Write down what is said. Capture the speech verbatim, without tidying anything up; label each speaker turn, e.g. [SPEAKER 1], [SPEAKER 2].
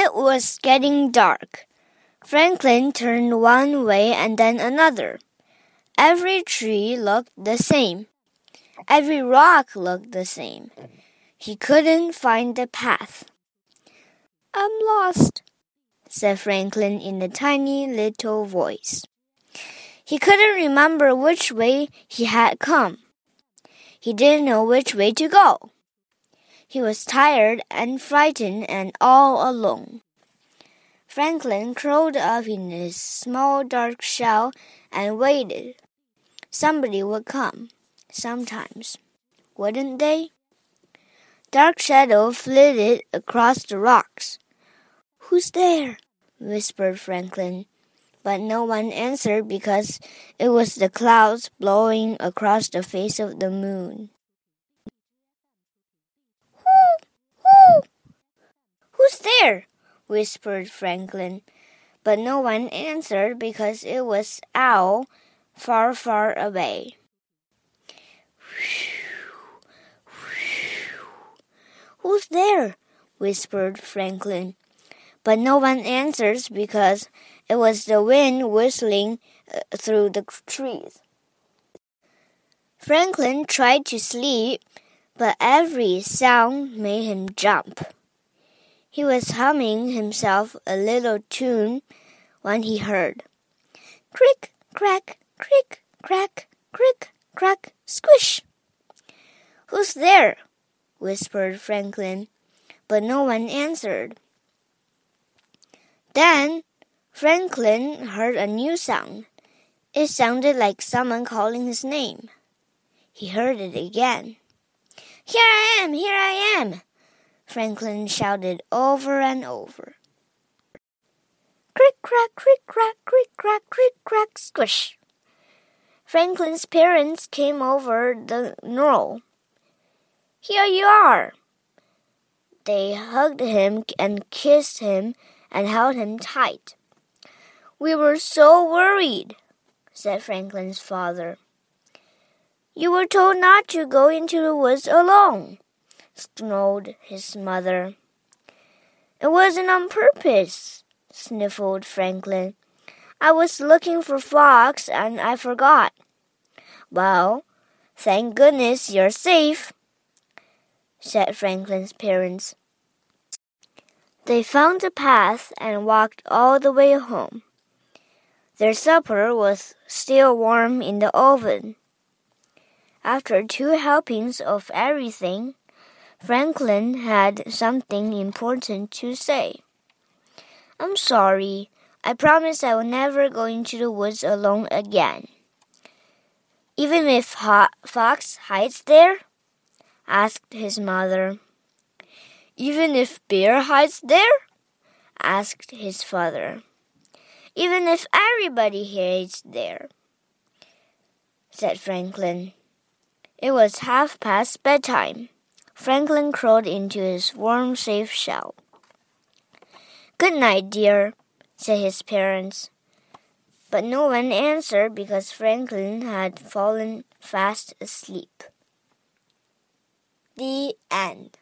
[SPEAKER 1] It was getting dark. Franklin turned one way and then another. Every tree looked the same. Every rock looked the same. He couldn't find the path. "I'm lost," said Franklin in a tiny little voice. He couldn't remember which way he had come. He didn't know which way to go. He was tired and frightened and all alone. Franklin curled up in his small dark shell and waited. Somebody would come, sometimes, wouldn't they? Dark shadow flitted across the rocks. "Who's there?" whispered Franklin, but no one answered because it was the clouds blowing across the face of the moon. "Whoo! Whoo! Who's there?" whispered Franklin, but no one answered because it was Owl far, far away. "Who's there?" whispered Franklin, but no one answered because it was the wind whistling uh, through the trees. Franklin tried to sleep, but every sound made him jump. He was humming himself a little tune when he heard, "Crick, crack, crick, crack, crick, crack, squish." "Who's there?" whispered Franklin, but no one answered. Then Franklin heard a new sound. It sounded like someone calling his name. He heard it again. "Here I am! Here I am!" Franklin shouted over and over. Crick, crack, crick, crack, crick, crack, crick, crack, squish. Franklin's parents came over the knoll. "Here you are!" They hugged him and kissed him and held him tight. "We were so worried," said Franklin's father. "You were told not to go into the woods alone," snarled his mother. "It wasn't on purpose," sniffled Franklin. "I was looking for Fox and I forgot." "Well, thank goodness you're safe," said Franklin's parents. They found a path and walked all the way home. Their supper was still warm in the oven. After two helpings of everything, Franklin had something important to say. "I'm sorry. I promise I will never go into the woods alone again." "Even if Fox hides there?" asked his mother. "Even if Bear hides there?" asked his father. "Even if everybody hides there," said Franklin. It was half past bedtime. Franklin crawled into his warm, safe shell. "Good night, dear," said his parents. But no one answered because Franklin had fallen fast asleep. The end.